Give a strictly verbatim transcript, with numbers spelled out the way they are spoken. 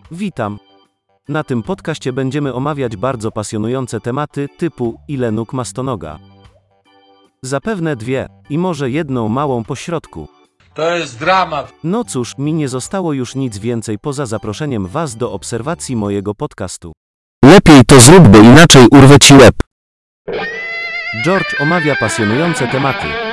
Witam. Na tym podcaście będziemy omawiać bardzo pasjonujące tematy, typu ile nóg ma stonoga. Zapewne dwie, i może jedną małą pośrodku. To jest dramat. No cóż, mi nie zostało już nic więcej poza zaproszeniem Was do obserwacji mojego podcastu. Lepiej to zrób, bo inaczej urwę ci łeb. George omawia pasjonujące tematy.